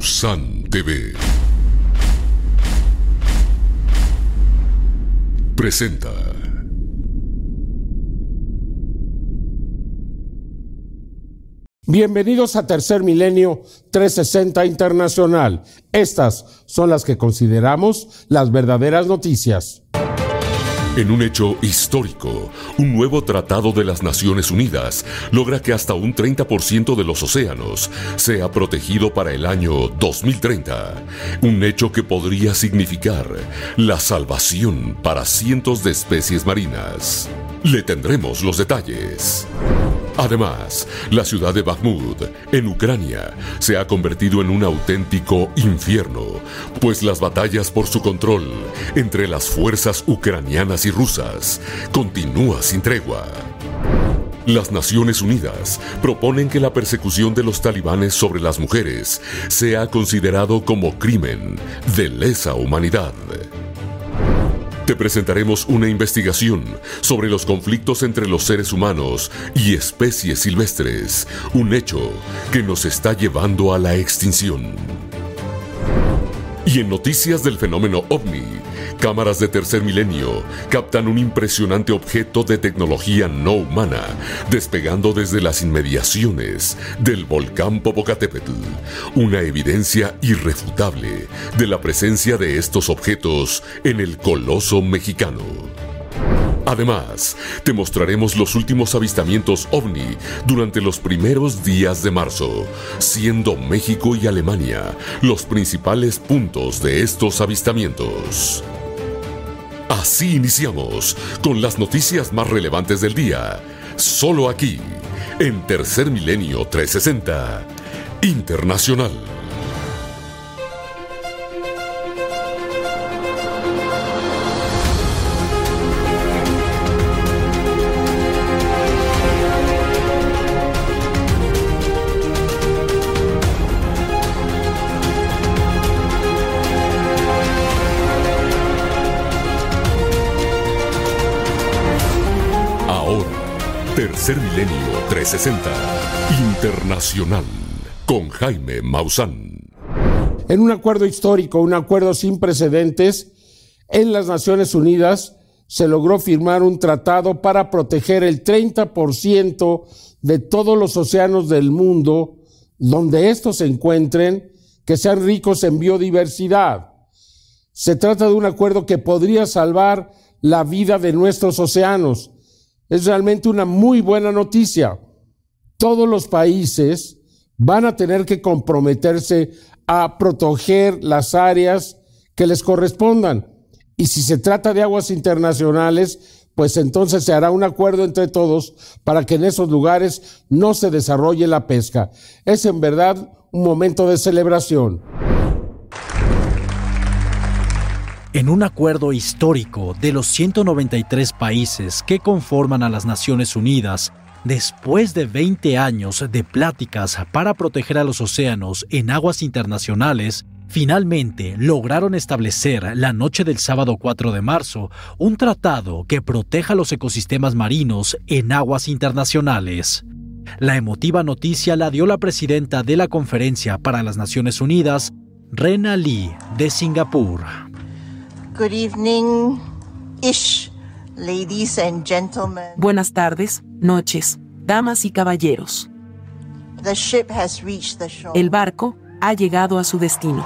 Maussan TV presenta. Bienvenidos a Tercer Milenio 360 Internacional. Estas son las que consideramos las verdaderas noticias. En un hecho histórico, un nuevo tratado de las Naciones Unidas logra que hasta un 30% de los océanos sea protegido para el año 2030. Un hecho que podría significar la salvación para cientos de especies marinas. Le tendremos los detalles. Además, la ciudad de Bakhmut, en Ucrania, se ha convertido en un auténtico infierno, pues las batallas por su control entre las fuerzas ucranianas y rusas continúa sin tregua. Las Naciones Unidas proponen que la persecución de los talibanes sobre las mujeres sea considerado como crimen de lesa humanidad. Te presentaremos una investigación sobre los conflictos entre los seres humanos y especies silvestres, un hecho que nos está llevando a la extinción. Y en noticias del fenómeno OVNI, cámaras de Tercer Milenio captan un impresionante objeto de tecnología no humana despegando desde las inmediaciones del volcán Popocatépetl, una evidencia irrefutable de la presencia de estos objetos en el coloso mexicano. Además, te mostraremos los últimos avistamientos OVNI durante los primeros días de marzo, siendo México y Alemania los principales puntos de estos avistamientos. Así iniciamos con las noticias más relevantes del día, solo aquí, en Tercer Milenio 360 Internacional. Tercer Milenio 360 Internacional con Jaime Maussan. En un acuerdo histórico, un acuerdo sin precedentes, en las Naciones Unidas se logró firmar un tratado para proteger el 30% de todos los océanos del mundo, donde estos se encuentren, que sean ricos en biodiversidad. Se trata de un acuerdo que podría salvar la vida de nuestros océanos. Es realmente una muy buena noticia. Todos los países van a tener que comprometerse a proteger las áreas que les correspondan. Y si se trata de aguas internacionales, pues entonces se hará un acuerdo entre todos para que en esos lugares no se desarrolle la pesca. Es en verdad un momento de celebración. En un acuerdo histórico de los 193 países que conforman a las Naciones Unidas, después de 20 años de pláticas para proteger a los océanos en aguas internacionales, finalmente lograron establecer la noche del sábado 4 de marzo un tratado que proteja los ecosistemas marinos en aguas internacionales. La emotiva noticia la dio la presidenta de la Conferencia para las Naciones Unidas, Rena Lee, de Singapur. Good evening-ish, ladies and gentlemen. Buenas tardes, noches, damas y caballeros. The ship has reached the shore. El barco ha llegado a su destino.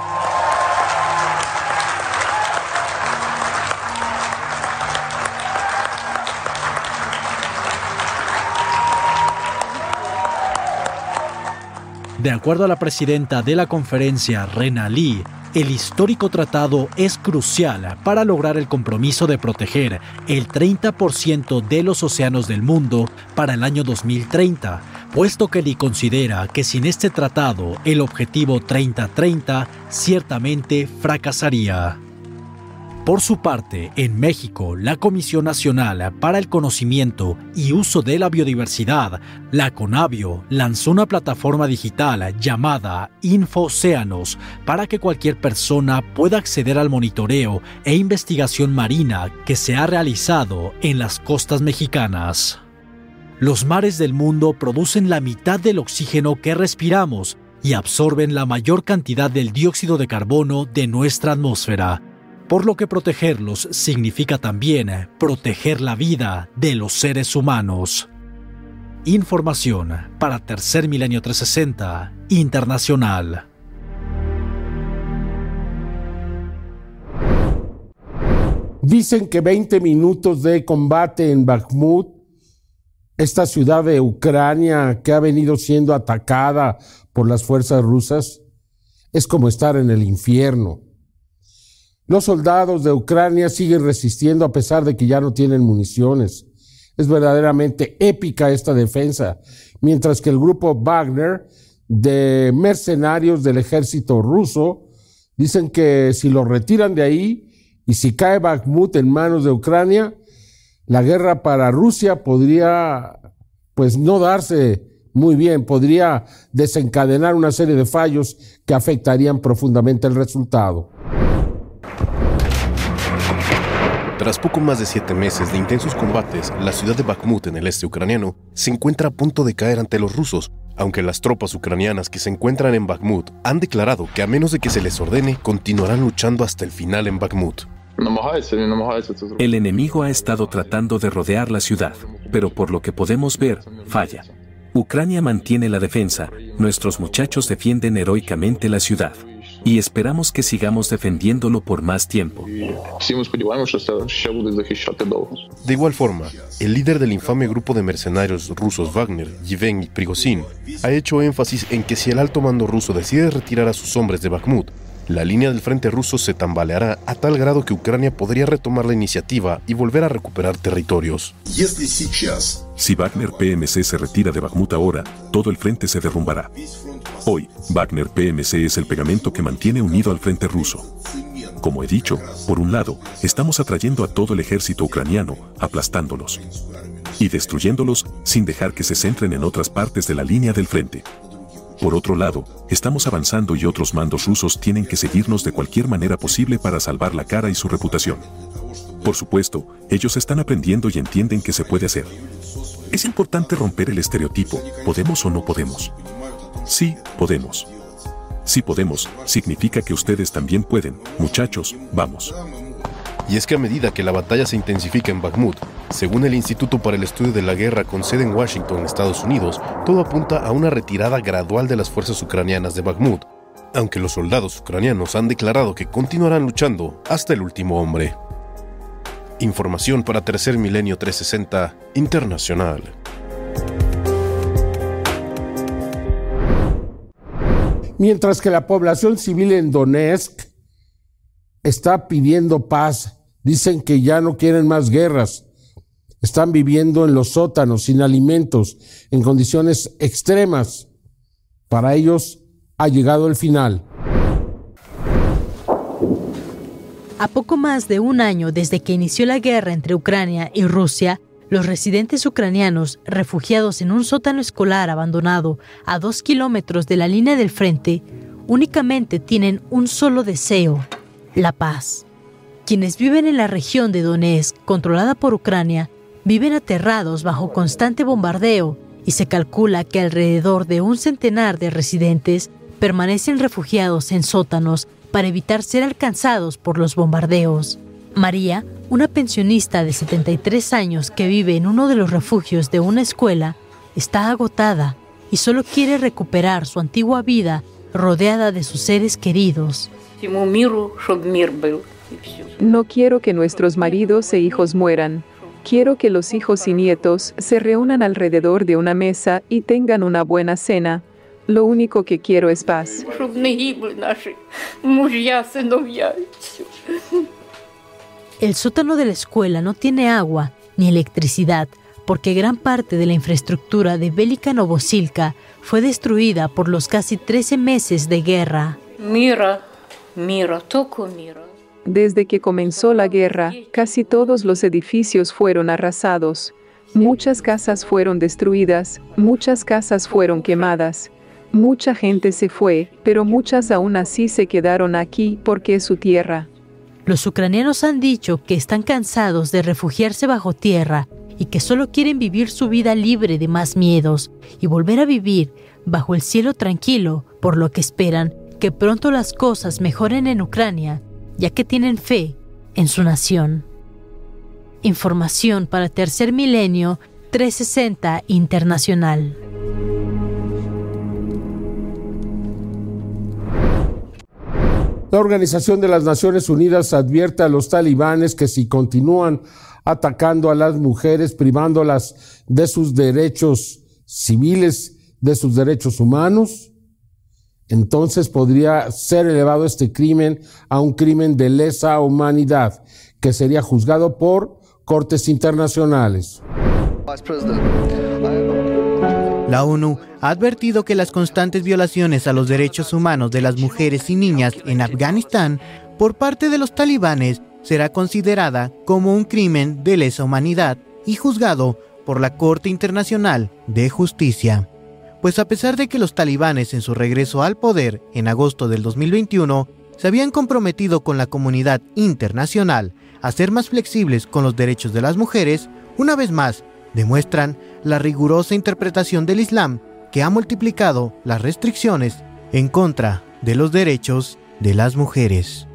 De acuerdo a la presidenta de la conferencia, Rena Lee, el histórico tratado es crucial para lograr el compromiso de proteger el 30% de los océanos del mundo para el año 2030, puesto que Lee considera que sin este tratado el objetivo 30-30 ciertamente fracasaría. Por su parte, en México, la Comisión Nacional para el Conocimiento y Uso de la Biodiversidad, la CONABIO, lanzó una plataforma digital llamada InfoOceanos para que cualquier persona pueda acceder al monitoreo e investigación marina que se ha realizado en las costas mexicanas. Los mares del mundo producen la mitad del oxígeno que respiramos y absorben la mayor cantidad del dióxido de carbono de nuestra atmósfera, por lo que protegerlos significa también proteger la vida de los seres humanos. Información para Tercer Milenio 360 Internacional. Dicen que 20 minutos de combate en Bakhmut, esta ciudad de Ucrania que ha venido siendo atacada por las fuerzas rusas, es como estar en el infierno. Los soldados de Ucrania siguen resistiendo a pesar de que ya no tienen municiones. Es verdaderamente épica esta defensa, mientras que el grupo Wagner de mercenarios del ejército ruso dicen que si lo retiran de ahí y si cae Bakhmut en manos de Ucrania, la guerra para Rusia podría no darse muy bien, podría desencadenar una serie de fallos que afectarían profundamente el resultado. Tras poco más de 7 meses de intensos combates, la ciudad de Bakhmut en el este ucraniano se encuentra a punto de caer ante los rusos, aunque las tropas ucranianas que se encuentran en Bakhmut han declarado que a menos de que se les ordene, continuarán luchando hasta el final en Bakhmut. El enemigo ha estado tratando de rodear la ciudad, pero por lo que podemos ver, falla. Ucrania mantiene la defensa, nuestros muchachos defienden heroicamente la ciudad. Y esperamos que sigamos defendiéndolo por más tiempo. De igual forma, el líder del infame grupo de mercenarios rusos Wagner, Yevgeny Prigozhin, ha hecho énfasis en que si el alto mando ruso decide retirar a sus hombres de Bakhmut, la línea del frente ruso se tambaleará a tal grado que Ucrania podría retomar la iniciativa y volver a recuperar territorios. Si Wagner PMC se retira de Bakhmut ahora, todo el frente se derrumbará. Hoy, Wagner PMC es el pegamento que mantiene unido al frente ruso. Como he dicho, por un lado, estamos atrayendo a todo el ejército ucraniano, aplastándolos y destruyéndolos sin dejar que se centren en otras partes de la línea del frente. Por otro lado, estamos avanzando y otros mandos rusos tienen que seguirnos de cualquier manera posible para salvar la cara y su reputación. Por supuesto, ellos están aprendiendo y entienden que se puede hacer. Es importante romper el estereotipo, ¿podemos o no podemos? Sí, podemos. Si podemos, significa que ustedes también pueden. Muchachos, vamos. Y es que a medida que la batalla se intensifica en Bakhmut, según el Instituto para el Estudio de la Guerra con sede en Washington, Estados Unidos, todo apunta a una retirada gradual de las fuerzas ucranianas de Bakhmut, aunque los soldados ucranianos han declarado que continuarán luchando hasta el último hombre. Información para Tercer Milenio 360 Internacional. Mientras que la población civil en Donetsk está pidiendo paz, dicen que ya no quieren más guerras, están viviendo en los sótanos, sin alimentos, en condiciones extremas. Para ellos ha llegado el final. A poco más de un año desde que inició la guerra entre Ucrania y Rusia, los residentes ucranianos, refugiados en un sótano escolar abandonado a 2 kilómetros de la línea del frente, únicamente tienen un solo deseo: la paz. Quienes viven en la región de Donetsk, controlada por Ucrania, viven aterrados bajo constante bombardeo y se calcula que alrededor de 100 de residentes permanecen refugiados en sótanos para evitar ser alcanzados por los bombardeos. María, una pensionista de 73 años que vive en uno de los refugios de una escuela, está agotada y solo quiere recuperar su antigua vida rodeada de sus seres queridos. No quiero que nuestros maridos e hijos mueran. Quiero que los hijos y nietos se reúnan alrededor de una mesa y tengan una buena cena. Lo único que quiero es paz. El sótano de la escuela no tiene agua ni electricidad porque gran parte de la infraestructura de Velika Novosilka fue destruida por los casi 13 meses de guerra. Desde que comenzó la guerra, casi todos los edificios fueron arrasados. Muchas casas fueron destruidas, muchas casas fueron quemadas. Mucha gente se fue, pero muchas aún así se quedaron aquí porque es su tierra. Los ucranianos han dicho que están cansados de refugiarse bajo tierra y que solo quieren vivir su vida libre de más miedos y volver a vivir bajo el cielo tranquilo, por lo que esperan que pronto las cosas mejoren en Ucrania, ya que tienen fe en su nación. Información para Tercer Milenio 360 Internacional. La Organización de las Naciones Unidas advierte a los talibanes que si continúan atacando a las mujeres, privándolas de sus derechos civiles, de sus derechos humanos, entonces podría ser elevado este crimen a un crimen de lesa humanidad, que sería juzgado por cortes internacionales. La ONU ha advertido que las constantes violaciones a los derechos humanos de las mujeres y niñas en Afganistán por parte de los talibanes será considerada como un crimen de lesa humanidad y juzgado por la Corte Internacional de Justicia. Pues a pesar de que los talibanes en su regreso al poder en agosto del 2021 se habían comprometido con la comunidad internacional a ser más flexibles con los derechos de las mujeres, una vez más demuestran la rigurosa interpretación del Islam que ha multiplicado las restricciones en contra de los derechos de las mujeres.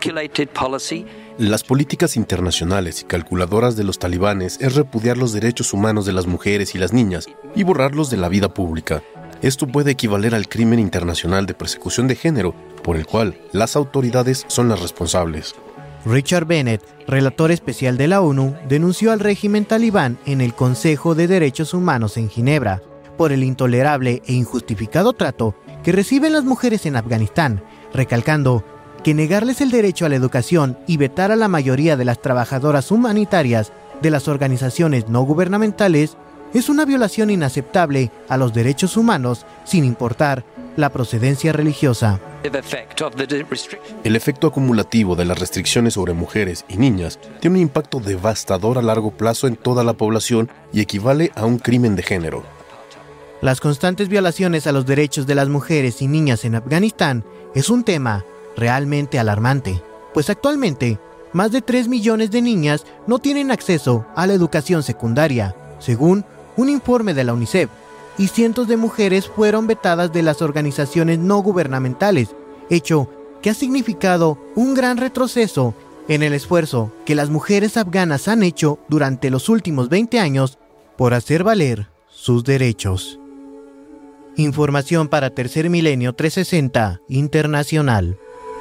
Las políticas internacionales y calculadoras de los talibanes es repudiar los derechos humanos de las mujeres y las niñas y borrarlos de la vida pública. Esto puede equivaler al crimen internacional de persecución de género, por el cual las autoridades son las responsables. Richard Bennett, relator especial de la ONU, denunció al régimen talibán en el Consejo de Derechos Humanos en Ginebra por el intolerable e injustificado trato que reciben las mujeres en Afganistán, recalcando que negarles el derecho a la educación y vetar a la mayoría de las trabajadoras humanitarias de las organizaciones no gubernamentales es una violación inaceptable a los derechos humanos sin importar la procedencia religiosa. El efecto acumulativo de las restricciones sobre mujeres y niñas tiene un impacto devastador a largo plazo en toda la población y equivale a un crimen de género. Las constantes violaciones a los derechos de las mujeres y niñas en Afganistán es un tema realmente alarmante, pues actualmente más de 3 millones de niñas no tienen acceso a la educación secundaria, según un informe de la UNICEF, y cientos de mujeres fueron vetadas de las organizaciones no gubernamentales, hecho que ha significado un gran retroceso en el esfuerzo que las mujeres afganas han hecho durante los últimos 20 años por hacer valer sus derechos. Información para Tercer Milenio 360 Internacional.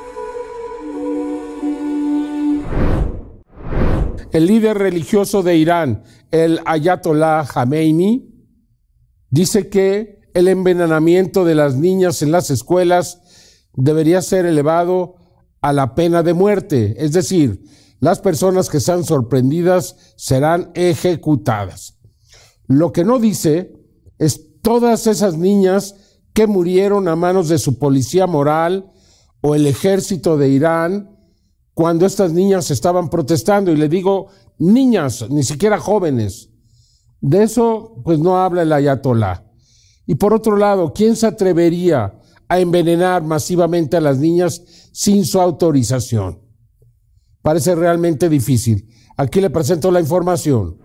El líder religioso de Irán, el Ayatollah Khamenei, dice que el envenenamiento de las niñas en las escuelas debería ser elevado a la pena de muerte, es decir, las personas que sean sorprendidas serán ejecutadas. Lo que no dice es todas esas niñas que murieron a manos de su policía moral o el ejército de Irán cuando estas niñas estaban protestando, y le digo niñas, ni siquiera jóvenes. De eso pues no habla el ayatolá. Y por otro lado, ¿quién se atrevería a envenenar masivamente a las niñas sin su autorización? Parece realmente difícil. Aquí le presento la información.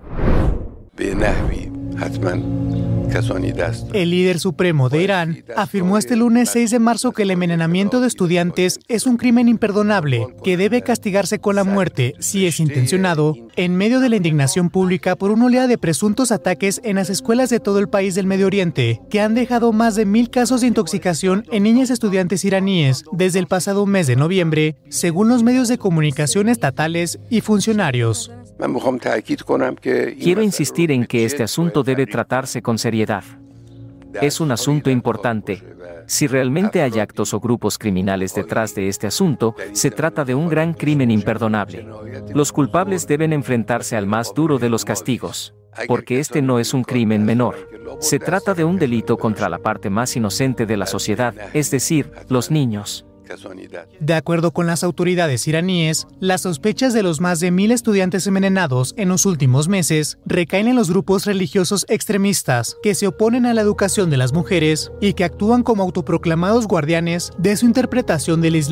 El líder supremo de Irán afirmó este lunes 6 de marzo que el envenenamiento de estudiantes es un crimen imperdonable que debe castigarse con la muerte si es intencionado, en medio de la indignación pública por una oleada de presuntos ataques en las escuelas de todo el país del Medio Oriente, que han dejado más de 1,000 casos de intoxicación en niñas estudiantes iraníes desde el pasado mes de noviembre, según los medios de comunicación estatales y funcionarios. Quiero insistir en que este asunto debe tratarse con seriedad. Es un asunto importante. Si realmente hay actos o grupos criminales detrás de este asunto, se trata de un gran crimen imperdonable. Los culpables deben enfrentarse al más duro de los castigos, porque este no es un crimen menor. Se trata de un delito contra la parte más inocente de la sociedad, es decir, los niños. De acuerdo con las autoridades iraníes, las sospechas de los más de 1,000 estudiantes envenenados en los últimos meses recaen en los grupos religiosos extremistas que se oponen a la educación de las mujeres y que actúan como autoproclamados guardianes de su interpretación del Islam,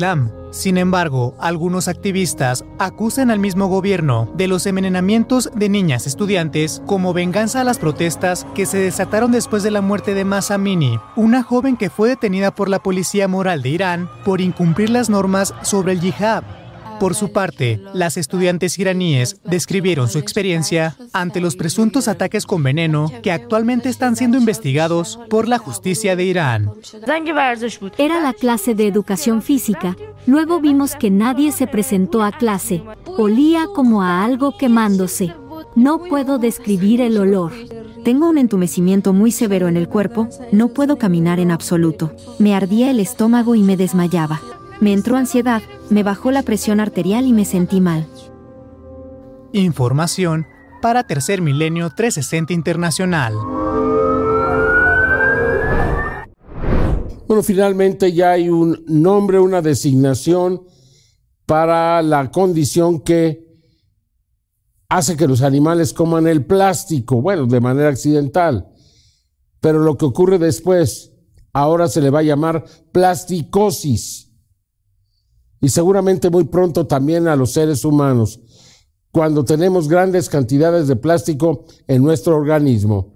Sin embargo, algunos activistas acusan al mismo gobierno de los envenenamientos de niñas estudiantes como venganza a las protestas que se desataron después de la muerte de Mahsa Amini, una joven que fue detenida por la policía moral de Irán por incumplir las normas sobre el yihad. Por su parte, las estudiantes iraníes describieron su experiencia ante los presuntos ataques con veneno que actualmente están siendo investigados por la justicia de Irán. Era la clase de educación física. Luego vimos que nadie se presentó a clase. Olía como a algo quemándose. No puedo describir el olor. Tengo un entumecimiento muy severo en el cuerpo. No puedo caminar en absoluto. Me ardía el estómago y me desmayaba. Me entró ansiedad, me bajó la presión arterial y me sentí mal. Información para Tercer Milenio 360 Internacional. Bueno, finalmente ya hay un nombre, una designación para la condición que hace que los animales coman el plástico, bueno, de manera accidental. Pero lo que ocurre después, ahora se le va a llamar plasticosis. Y seguramente muy pronto también a los seres humanos, cuando tenemos grandes cantidades de plástico en nuestro organismo.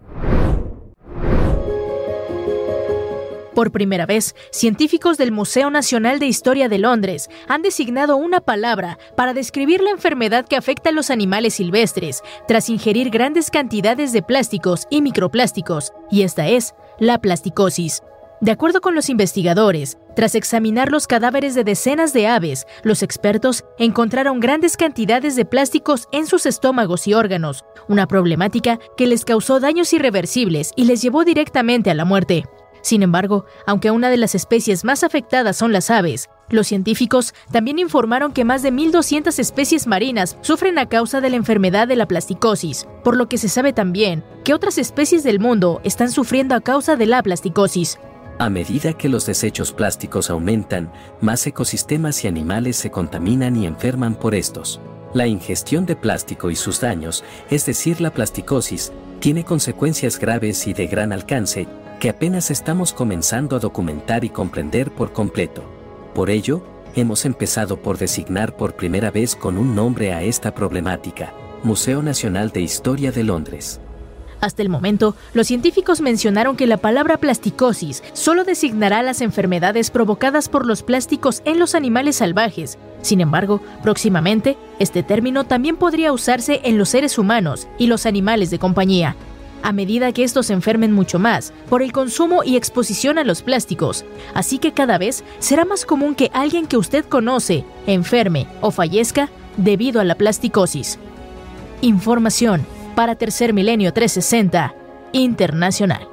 Por primera vez, científicos del Museo Nacional de Historia de Londres han designado una palabra para describir la enfermedad que afecta a los animales silvestres tras ingerir grandes cantidades de plásticos y microplásticos, y esta es la plasticosis. De acuerdo con los investigadores, tras examinar los cadáveres de decenas de aves, los expertos encontraron grandes cantidades de plásticos en sus estómagos y órganos, una problemática que les causó daños irreversibles y les llevó directamente a la muerte. Sin embargo, aunque una de las especies más afectadas son las aves, los científicos también informaron que más de 1.200 especies marinas sufren a causa de la enfermedad de la plasticosis, por lo que se sabe también que otras especies del mundo están sufriendo a causa de la plasticosis. A medida que los desechos plásticos aumentan, más ecosistemas y animales se contaminan y enferman por estos. La ingestión de plástico y sus daños, es decir, la plasticosis, tiene consecuencias graves y de gran alcance, que apenas estamos comenzando a documentar y comprender por completo. Por ello, hemos empezado por designar por primera vez con un nombre a esta problemática: Museo Nacional de Historia de Londres. Hasta el momento, los científicos mencionaron que la palabra plasticosis solo designará las enfermedades provocadas por los plásticos en los animales salvajes. Sin embargo, próximamente, este término también podría usarse en los seres humanos y los animales de compañía. A medida que estos se enfermen mucho más por el consumo y exposición a los plásticos, así que cada vez será más común que alguien que usted conoce enferme o fallezca debido a la plasticosis. Información para Tercer Milenio 360 Internacional.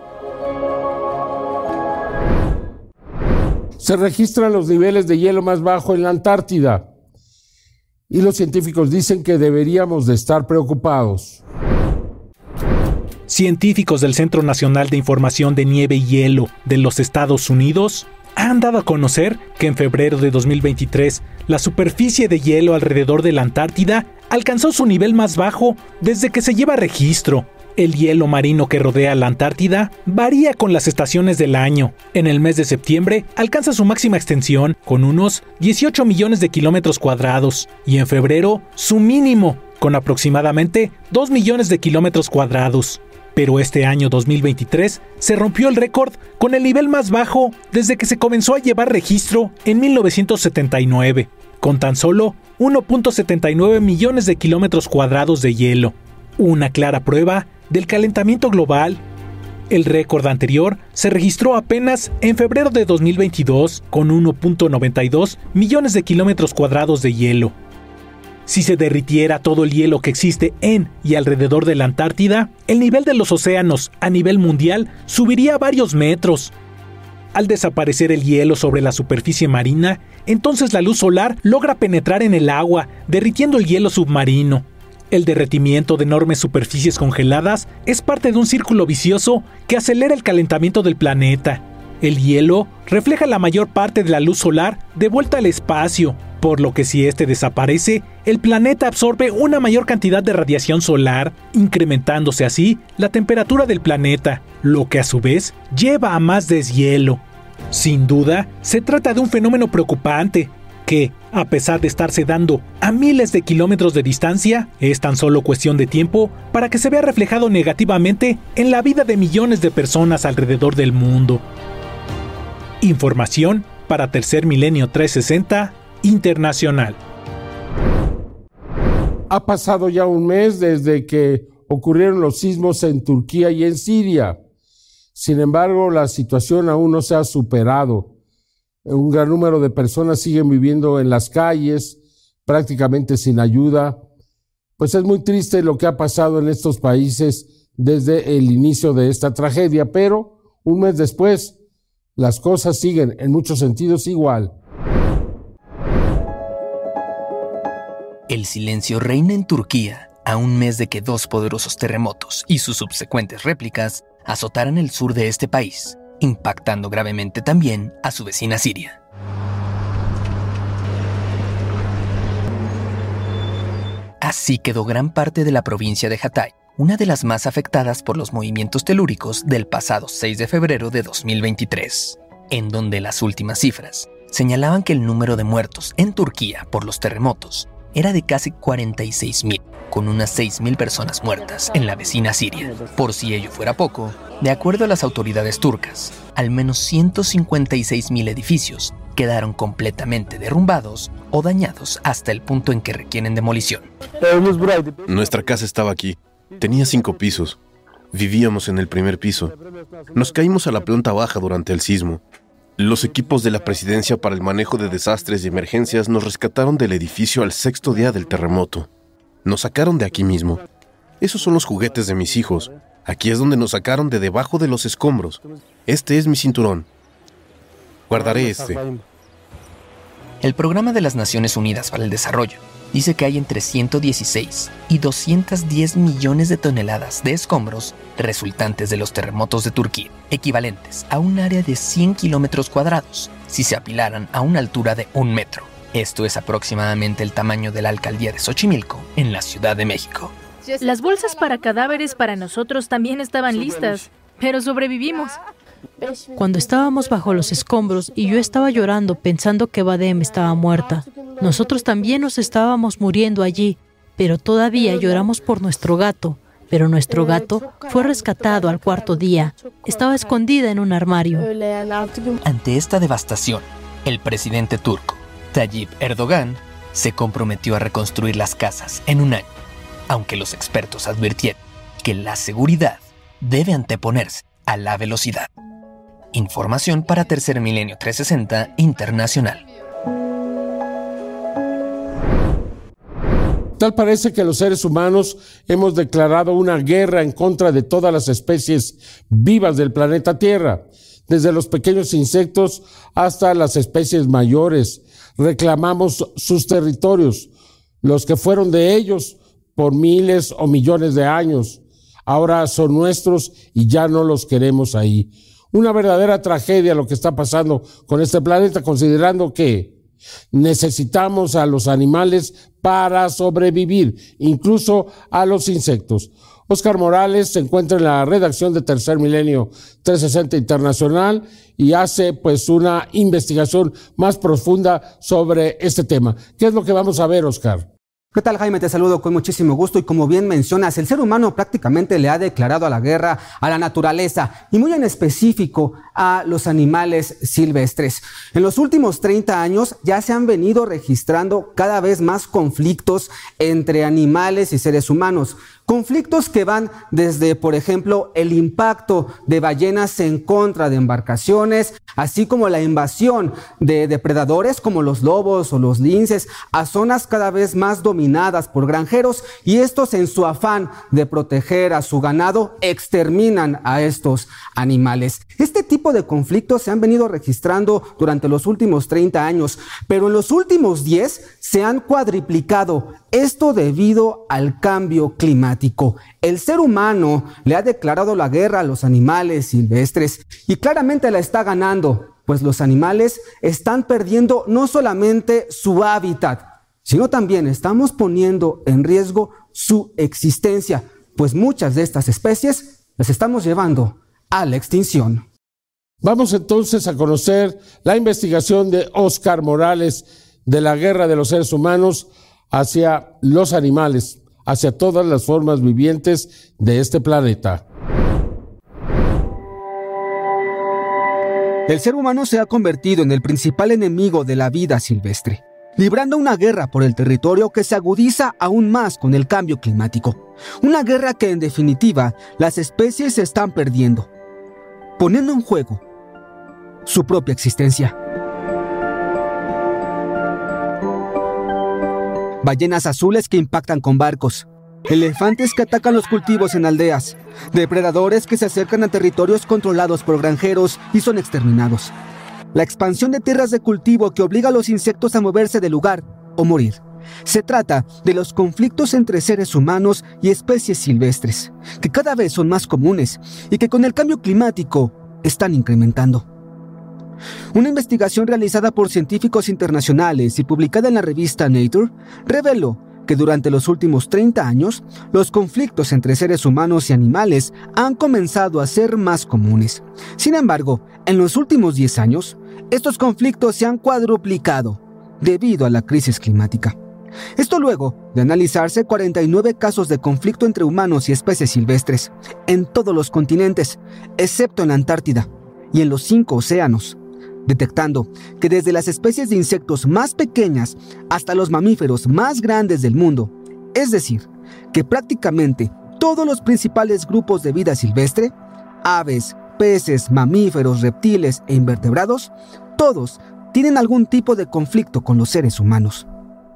Se registran los niveles de hielo más bajo en la Antártida y los científicos dicen que deberíamos de estar preocupados. Científicos del Centro Nacional de Información de Nieve y Hielo de los Estados Unidos han dado a conocer que en febrero de 2023 la superficie de hielo alrededor de la Antártida alcanzó su nivel más bajo desde que se lleva registro. El hielo marino que rodea la Antártida varía con las estaciones del año. En el mes de septiembre alcanza su máxima extensión con unos 18 millones de kilómetros cuadrados y en febrero su mínimo con aproximadamente 2 millones de kilómetros cuadrados. Pero este año 2023 se rompió el récord con el nivel más bajo desde que se comenzó a llevar registro en 1979, con tan solo 1.79 millones de kilómetros cuadrados de hielo. Una clara prueba del calentamiento global. El récord anterior se registró apenas en febrero de 2022 con 1.92 millones de kilómetros cuadrados de hielo. Si se derritiera todo el hielo que existe en y alrededor de la Antártida, el nivel de los océanos a nivel mundial subiría varios metros. Al desaparecer el hielo sobre la superficie marina, entonces la luz solar logra penetrar en el agua, derritiendo el hielo submarino. El derretimiento de enormes superficies congeladas es parte de un círculo vicioso que acelera el calentamiento del planeta. El hielo refleja la mayor parte de la luz solar de vuelta al espacio, por lo que si este desaparece, el planeta absorbe una mayor cantidad de radiación solar, incrementándose así la temperatura del planeta, lo que a su vez lleva a más deshielo. Sin duda, se trata de un fenómeno preocupante, que, a pesar de estarse dando a miles de kilómetros de distancia, es tan solo cuestión de tiempo para que se vea reflejado negativamente en la vida de millones de personas alrededor del mundo. Información para Tercer Milenio 360 Internacional. Ha pasado ya un mes desde que ocurrieron los sismos en Turquía y en Siria. Sin embargo, la situación aún no se ha superado. Un gran número de personas siguen viviendo en las calles, prácticamente sin ayuda. Pues es muy triste lo que ha pasado en estos países desde el inicio de esta tragedia, pero un mes después, las cosas siguen en muchos sentidos igual. El silencio reina en Turquía a un mes de que dos poderosos terremotos y sus subsecuentes réplicas azotaran el sur de este país, impactando gravemente también a su vecina Siria. Así quedó gran parte de la provincia de Hatay, una de las más afectadas por los movimientos telúricos del pasado 6 de febrero de 2023, en donde las últimas cifras señalaban que el número de muertos en Turquía por los terremotos era de casi 46.000, con unas 6.000 personas muertas en la vecina Siria. Por si ello fuera poco, de acuerdo a las autoridades turcas, al menos 156.000 edificios quedaron completamente derrumbados o dañados hasta el punto en que requieren demolición. Nuestra casa estaba aquí. Tenía 5 pisos. Vivíamos en el primer piso. Nos caímos a la planta baja durante el sismo. Los equipos de la Presidencia para el Manejo de Desastres y Emergencias nos rescataron del edificio al 6º día del terremoto. Nos sacaron de aquí mismo. Esos son los juguetes de mis hijos. Aquí es donde nos sacaron de debajo de los escombros. Este es mi cinturón. Guardaré este. El Programa de las Naciones Unidas para el Desarrollo dice que hay entre 116 y 210 millones de toneladas de escombros resultantes de los terremotos de Turquía, equivalentes a un área de 100 kilómetros cuadrados si se apilaran a una altura de 1 metro. Esto es aproximadamente el tamaño de la alcaldía de Xochimilco, en la Ciudad de México. Las bolsas para cadáveres para nosotros también estaban listas, pero sobrevivimos. Cuando estábamos bajo los escombros y yo estaba llorando pensando que Badem estaba muerta, nosotros también nos estábamos muriendo allí, pero todavía lloramos por nuestro gato. Pero nuestro gato fue rescatado al 4º día. Estaba escondida en un armario. Ante esta devastación, el presidente turco, Tayyip Erdogan, se comprometió a reconstruir las casas en un año, aunque los expertos advirtieron que la seguridad debe anteponerse a la velocidad. Información para Tercer Milenio 360 Internacional. Tal parece que los seres humanos hemos declarado una guerra en contra de todas las especies vivas del planeta Tierra, desde los pequeños insectos hasta las especies mayores. Reclamamos sus territorios, los que fueron de ellos por miles o millones de años. Ahora son nuestros y ya no los queremos ahí. Una verdadera tragedia lo que está pasando con este planeta, considerando que necesitamos a los animales para sobrevivir, incluso a los insectos. Óscar Morales se encuentra en la redacción de Tercer Milenio 360 Internacional y hace pues una investigación más profunda sobre este tema. ¿Qué es lo que vamos a ver, Óscar? ¿Qué tal, Jaime? Te saludo con muchísimo gusto y como bien mencionas, el ser humano prácticamente le ha declarado la guerra a la naturaleza y muy en específico a los animales silvestres. En los últimos 30 años ya se han venido registrando cada vez más conflictos entre animales y seres humanos. Conflictos que van desde, por ejemplo, el impacto de ballenas en contra de embarcaciones, así como la invasión de depredadores como los lobos o los linces a zonas cada vez más dominadas por granjeros, y estos, en su afán de proteger a su ganado, exterminan a estos animales. Este tipo de conflictos se han venido registrando durante los últimos 30 años, pero en los últimos 10 se han cuadriplicado. Esto debido al cambio climático. El ser humano le ha declarado la guerra a los animales silvestres y claramente la está ganando, pues los animales están perdiendo no solamente su hábitat, sino también estamos poniendo en riesgo su existencia, pues muchas de estas especies las estamos llevando a la extinción. Vamos entonces a conocer la investigación de Óscar Morales de la guerra de los seres humanos hacia los animales, hacia todas las formas vivientes de este planeta. El ser humano se ha convertido en el principal enemigo de la vida silvestre, librando una guerra por el territorio que se agudiza aún más con el cambio climático. Una guerra que, en definitiva, las especies se están perdiendo, poniendo en juego su propia existencia. Ballenas azules que impactan con barcos, elefantes que atacan los cultivos en aldeas, depredadores que se acercan a territorios controlados por granjeros y son exterminados. La expansión de tierras de cultivo que obliga a los insectos a moverse del lugar o morir. Se trata de los conflictos entre seres humanos y especies silvestres, que cada vez son más comunes y que con el cambio climático están incrementando. Una investigación realizada por científicos internacionales y publicada en la revista Nature reveló que durante los últimos 30 años, los conflictos entre seres humanos y animales han comenzado a ser más comunes. Sin embargo, en los últimos 10 años, estos conflictos se han cuadruplicado debido a la crisis climática. Esto luego de analizarse 49 casos de conflicto entre humanos y especies silvestres en todos los continentes, excepto en la Antártida y en los 5 océanos, detectando que desde las especies de insectos más pequeñas hasta los mamíferos más grandes del mundo, es decir, que prácticamente todos los principales grupos de vida silvestre, aves, peces, mamíferos, reptiles e invertebrados, todos tienen algún tipo de conflicto con los seres humanos.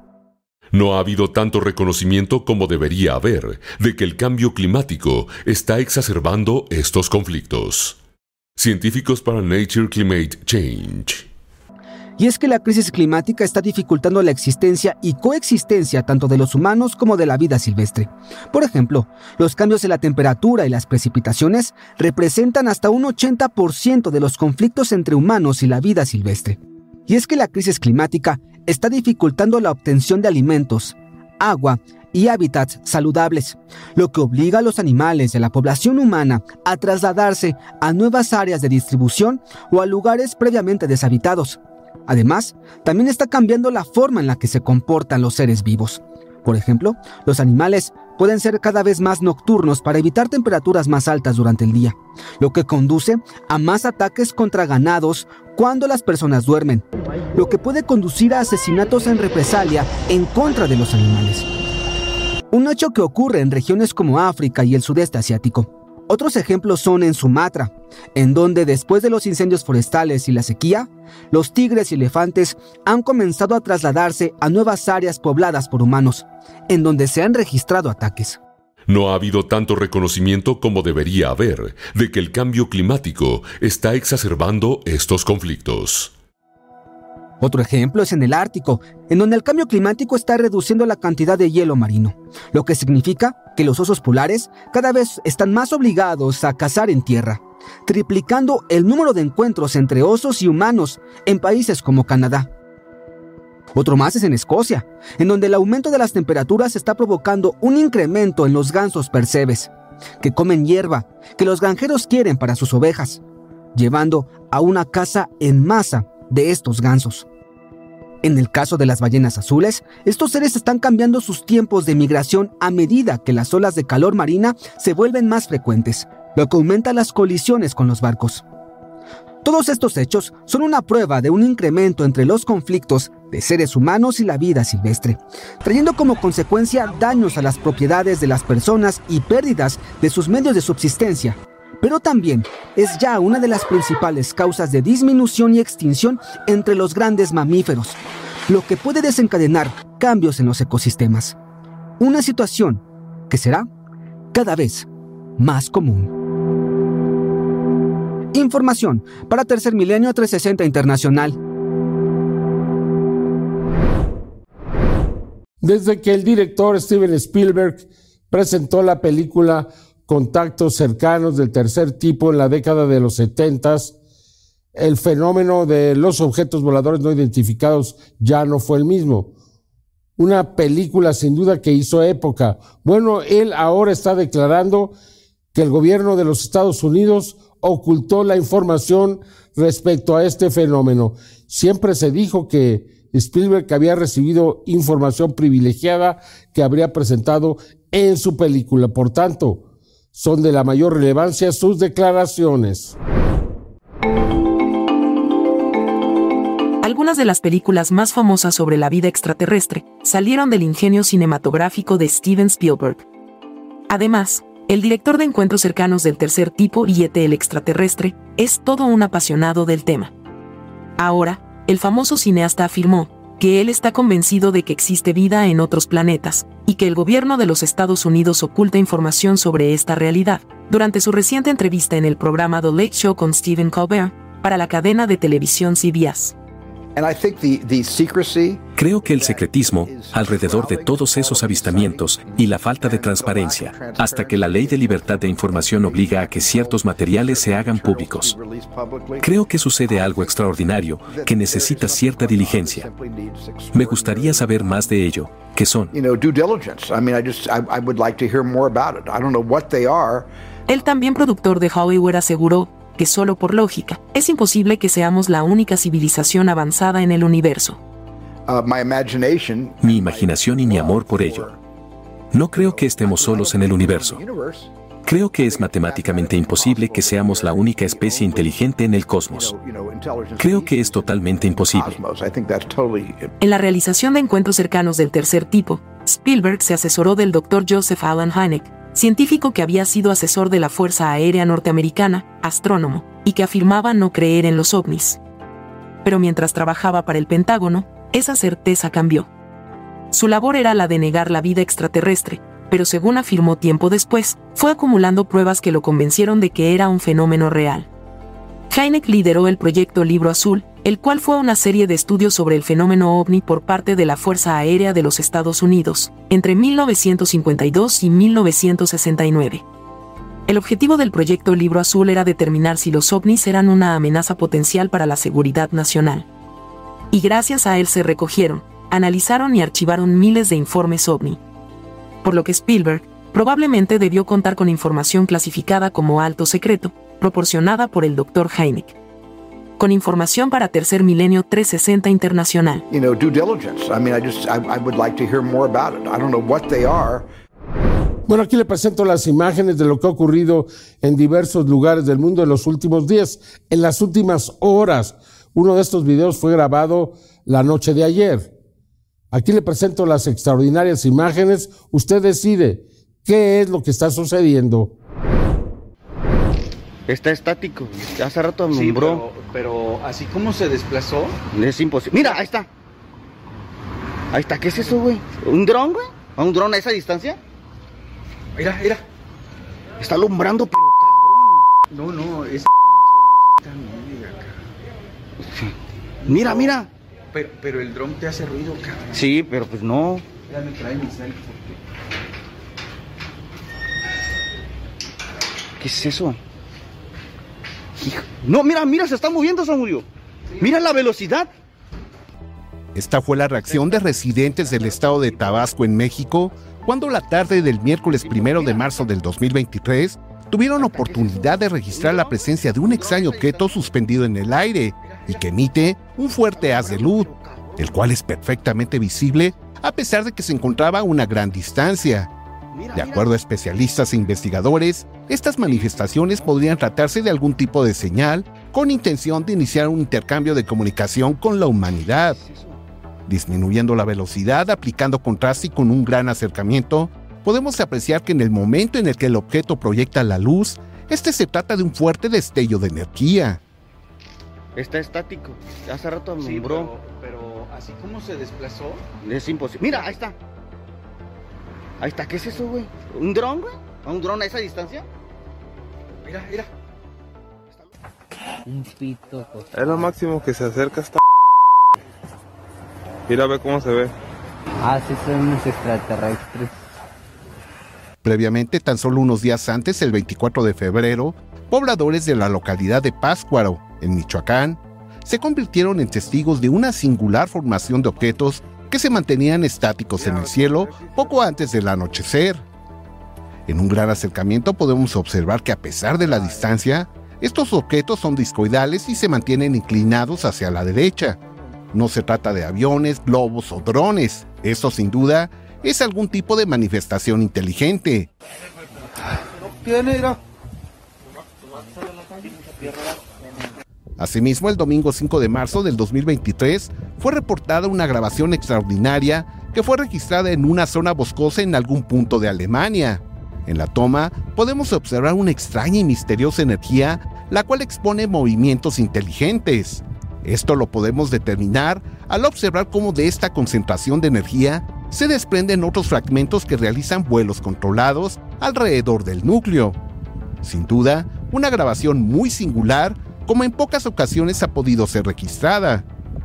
No ha habido tanto reconocimiento como debería haber de que el cambio climático está exacerbando estos conflictos. Científicos para Nature Climate Change. Y es que la crisis climática está dificultando la existencia y coexistencia tanto de los humanos como de la vida silvestre. Por ejemplo, los cambios en la temperatura y las precipitaciones representan hasta un 80% de los conflictos entre humanos y la vida silvestre. Y es que la crisis climática está dificultando la obtención de alimentos, agua y hábitats saludables, lo que obliga a los animales de la población humana a trasladarse a nuevas áreas de distribución o a lugares previamente deshabitados. Además, también está cambiando la forma en la que se comportan los seres vivos. Por ejemplo, los animales pueden ser cada vez más nocturnos para evitar temperaturas más altas durante el día, lo que conduce a más ataques contra ganados cuando las personas duermen, lo que puede conducir a asesinatos en represalia en contra de los animales. Un hecho que ocurre en regiones como África y el sudeste asiático. Otros ejemplos son en Sumatra, en donde después de los incendios forestales y la sequía, los tigres y elefantes han comenzado a trasladarse a nuevas áreas pobladas por humanos, en donde se han registrado ataques. No ha habido tanto reconocimiento como debería haber de que el cambio climático está exacerbando estos conflictos. Otro ejemplo es en el Ártico, en donde el cambio climático está reduciendo la cantidad de hielo marino, lo que significa que los osos polares cada vez están más obligados a cazar en tierra, triplicando el número de encuentros entre osos y humanos en países como Canadá. Otro más es en Escocia, en donde el aumento de las temperaturas está provocando un incremento en los gansos percebes, que comen hierba que los granjeros quieren para sus ovejas, llevando a una caza en masa de estos gansos. En el caso de las ballenas azules, estos seres están cambiando sus tiempos de migración a medida que las olas de calor marina se vuelven más frecuentes, lo que aumenta las colisiones con los barcos. Todos estos hechos son una prueba de un incremento entre los conflictos de seres humanos y la vida silvestre, trayendo como consecuencia daños a las propiedades de las personas y pérdidas de sus medios de subsistencia. Pero también es ya una de las principales causas de disminución y extinción entre los grandes mamíferos, lo que puede desencadenar cambios en los ecosistemas. Una situación que será cada vez más común. Información para Tercer Milenio 360 Internacional. Desde que el director Steven Spielberg presentó la película Contactos cercanos del tercer tipo en la década de los 70s, el fenómeno de los objetos voladores no identificados ya no fue el mismo. Una película sin duda que hizo época. Bueno, él ahora está declarando que el gobierno de los Estados Unidos ocultó la información respecto a este fenómeno. Siempre se dijo que Spielberg había recibido información privilegiada que habría presentado en su película. Por tanto, son de la mayor relevancia sus declaraciones. Algunas de las películas más famosas sobre la vida extraterrestre salieron del ingenio cinematográfico de Steven Spielberg. Además, el director de Encuentros cercanos del tercer tipo y E.T. el extraterrestre es todo un apasionado del tema. Ahora, el famoso cineasta afirmó que él está convencido de que existe vida en otros planetas y que el gobierno de los Estados Unidos oculta información sobre esta realidad, durante su reciente entrevista en el programa The Late Show con Stephen Colbert para la cadena de televisión CBS. Creo que el secretismo alrededor de todos esos avistamientos y la falta de transparencia, hasta que la ley de libertad de información obliga a que ciertos materiales se hagan públicos. Creo que sucede algo extraordinario que necesita cierta diligencia. Me gustaría saber más de ello. ¿Qué son? El también productor de Hollywood aseguró que solo por lógica, es imposible que seamos la única civilización avanzada en el universo. Mi imaginación y mi amor por ello. No creo que estemos solos en el universo. Creo que es matemáticamente imposible que seamos la única especie inteligente en el cosmos. Creo que es totalmente imposible. En la realización de Encuentros cercanos del tercer tipo, Spielberg se asesoró del Dr. Joseph Allen Hynek, científico que había sido asesor de la Fuerza Aérea Norteamericana, astrónomo, y que afirmaba no creer en los ovnis. Pero mientras trabajaba para el Pentágono, esa certeza cambió. Su labor era la de negar la vida extraterrestre, pero según afirmó tiempo después, fue acumulando pruebas que lo convencieron de que era un fenómeno real. Hynek lideró el proyecto Libro Azul, el cual fue una serie de estudios sobre el fenómeno ovni por parte de la Fuerza Aérea de los Estados Unidos, entre 1952 y 1969. El objetivo del proyecto Libro Azul era determinar si los ovnis eran una amenaza potencial para la seguridad nacional. Y gracias a él se recogieron, analizaron y archivaron miles de informes ovni. Por lo que Spielberg probablemente debió contar con información clasificada como alto secreto, proporcionada por el Dr. Hynek. Con información para Tercer Milenio 360 Internacional. Bueno, aquí le presento las imágenes de lo que ha ocurrido en diversos lugares del mundo en los últimos días, en las últimas horas. Uno de estos videos fue grabado la noche de ayer. Aquí le presento las extraordinarias imágenes. Usted decide qué es lo que está sucediendo. Está estático. Hace rato alumbró. Sí, pero así como se desplazó. Es imposible. Mira, ahí está. Ahí está. ¿Qué es eso, güey? ¿Un dron, güey? ¿A un dron a esa distancia? Mira, mira. Está alumbrando, pero cabrón. No, esa pinche luz está acá. Mira, mira. Pero el dron te hace ruido, cabrón. Sí, pero pues no. Ya me trae mi selfie. ¿Qué es eso? No, mira, se está moviendo, Samudio. Mira la velocidad. Esta fue la reacción de residentes del estado de Tabasco en México cuando la tarde del miércoles 1 de marzo del 2023 tuvieron oportunidad de registrar la presencia de un extraño objeto suspendido en el aire y que emite un fuerte haz de luz, el cual es perfectamente visible a pesar de que se encontraba a una gran distancia. De acuerdo a especialistas e investigadores, estas manifestaciones podrían tratarse de algún tipo de señal con intención de iniciar un intercambio de comunicación con la humanidad. Disminuyendo la velocidad, aplicando contraste y con un gran acercamiento, podemos apreciar que en el momento en el que el objeto proyecta la luz, se trata de un fuerte destello de energía. Está estático. Hace rato alumbró. Sí, pero así como se desplazó. Es imposible. Mira, ahí está. Ahí está, ¿qué es eso, güey? ¿Un dron, güey? ¿A un dron a esa distancia? Mira. Un pito. Es lo máximo que se acerca hasta... Mira, ve cómo se ve. Sí, son unos extraterrestres. Previamente, tan solo unos días antes, el 24 de febrero, pobladores de la localidad de Pátzcuaro, en Michoacán, se convirtieron en testigos de una singular formación de objetos que se mantenían estáticos en el cielo poco antes del anochecer. En un gran acercamiento podemos observar que a pesar de la distancia, estos objetos son discoidales y se mantienen inclinados hacia la derecha, No se trata de aviones, globos o drones. Eso sin duda es algún tipo de manifestación inteligente. Asimismo, el domingo 5 de marzo del 2023 fue reportada una grabación extraordinaria que fue registrada en una zona boscosa en algún punto de Alemania. En la toma podemos observar una extraña y misteriosa energía, la cual expone movimientos inteligentes. Esto lo podemos determinar al observar cómo de esta concentración de energía se desprenden otros fragmentos que realizan vuelos controlados alrededor del núcleo. Sin duda, una grabación muy singular, como en pocas ocasiones ha podido ser registrada.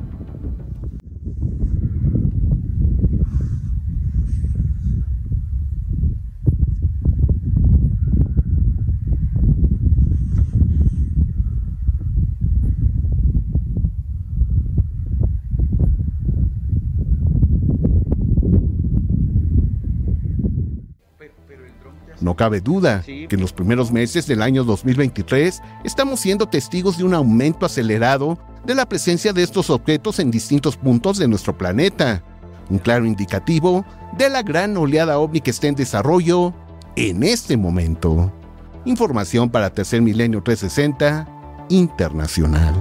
No cabe duda que en los primeros meses del año 2023 estamos siendo testigos de un aumento acelerado de la presencia de estos objetos en distintos puntos de nuestro planeta. Un claro indicativo de la gran oleada ovni que está en desarrollo en este momento. Información para Tercer Milenio 360 Internacional.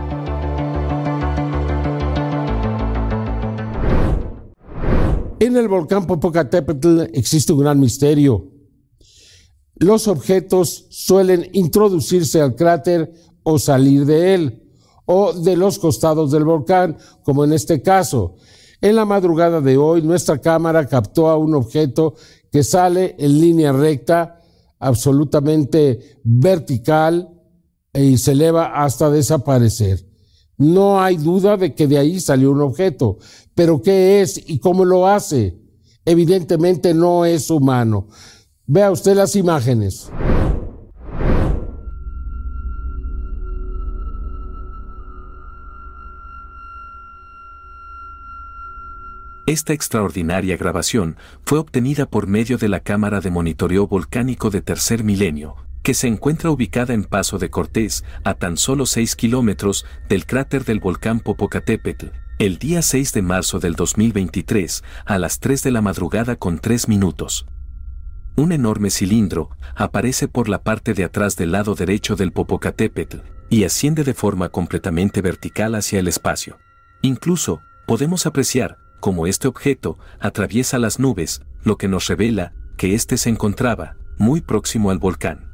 En el volcán Popocatépetl existe un gran misterio. Los objetos suelen introducirse al cráter o salir de él, o de los costados del volcán, como en este caso. En la madrugada de hoy, nuestra cámara captó a un objeto que sale en línea recta, absolutamente vertical, y se eleva hasta desaparecer. No hay duda de que de ahí salió un objeto, pero ¿qué es y cómo lo hace? Evidentemente no es humano. Vea usted las imágenes. Esta extraordinaria grabación fue obtenida por medio de la cámara de monitoreo volcánico de Tercer Milenio, que se encuentra ubicada en Paso de Cortés, a tan solo 6 kilómetros del cráter del volcán Popocatépetl, el día 6 de marzo del 2023, a las 3 de la madrugada con 3 minutos. Un enorme cilindro aparece por la parte de atrás del lado derecho del Popocatépetl y asciende de forma completamente vertical hacia el espacio. Incluso, podemos apreciar cómo este objeto atraviesa las nubes, lo que nos revela que éste se encontraba muy próximo al volcán.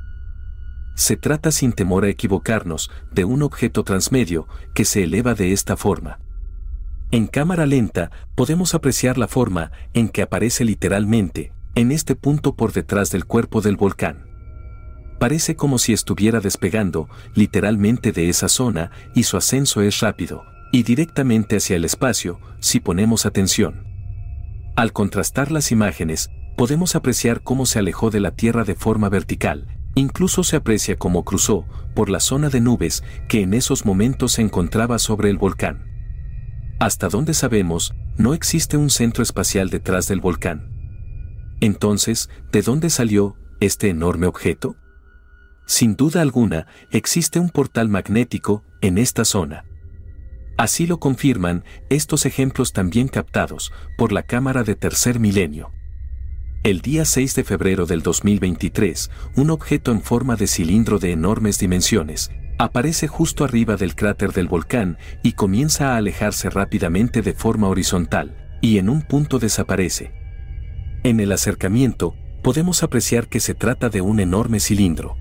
Se trata, sin temor a equivocarnos, de un objeto transmedio que se eleva de esta forma. En cámara lenta podemos apreciar la forma en que aparece literalmente en este punto por detrás del cuerpo del volcán. Parece como si estuviera despegando literalmente de esa zona, y su ascenso es rápido y directamente hacia el espacio si ponemos atención. Al contrastar las imágenes, podemos apreciar cómo se alejó de la Tierra de forma vertical. Incluso se aprecia cómo cruzó por la zona de nubes que en esos momentos se encontraba sobre el volcán. Hasta donde sabemos, no existe un centro espacial detrás del volcán. Entonces, ¿de dónde salió este enorme objeto? Sin duda alguna, existe un portal magnético en esta zona. Así lo confirman estos ejemplos también captados por la cámara de Tercer Milenio. El día 6 de febrero del 2023, un objeto en forma de cilindro de enormes dimensiones aparece justo arriba del cráter del volcán y comienza a alejarse rápidamente de forma horizontal, y en un punto desaparece. En el acercamiento, podemos apreciar que se trata de un enorme cilindro.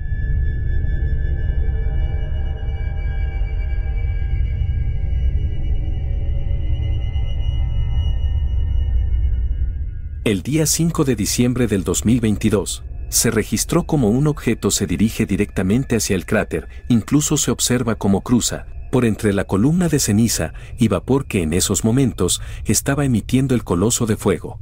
El día 5 de diciembre del 2022, se registró como un objeto se dirige directamente hacia el cráter, incluso se observa cómo cruza por entre la columna de ceniza y vapor que en esos momentos estaba emitiendo el coloso de fuego.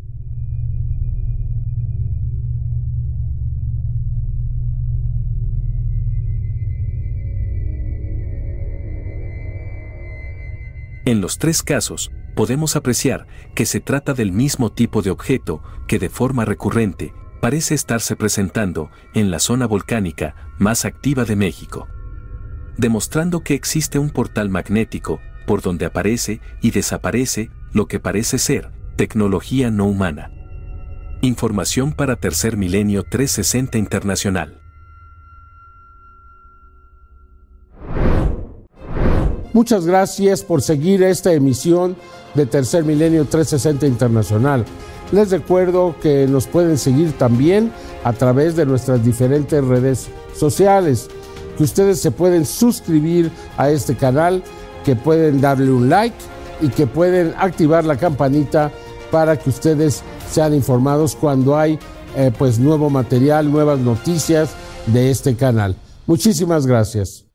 En los tres casos, podemos apreciar que se trata del mismo tipo de objeto que de forma recurrente parece estarse presentando en la zona volcánica más activa de México, demostrando que existe un portal magnético por donde aparece y desaparece lo que parece ser tecnología no humana. Información para Tercer Milenio 360 Internacional. Muchas gracias por seguir esta emisión de Tercer Milenio 360 Internacional. Les recuerdo que nos pueden seguir también a través de nuestras diferentes redes sociales, que ustedes se pueden suscribir a este canal, que pueden darle un like y que pueden activar la campanita para que ustedes sean informados cuando hay nuevo material, nuevas noticias de este canal. Muchísimas gracias.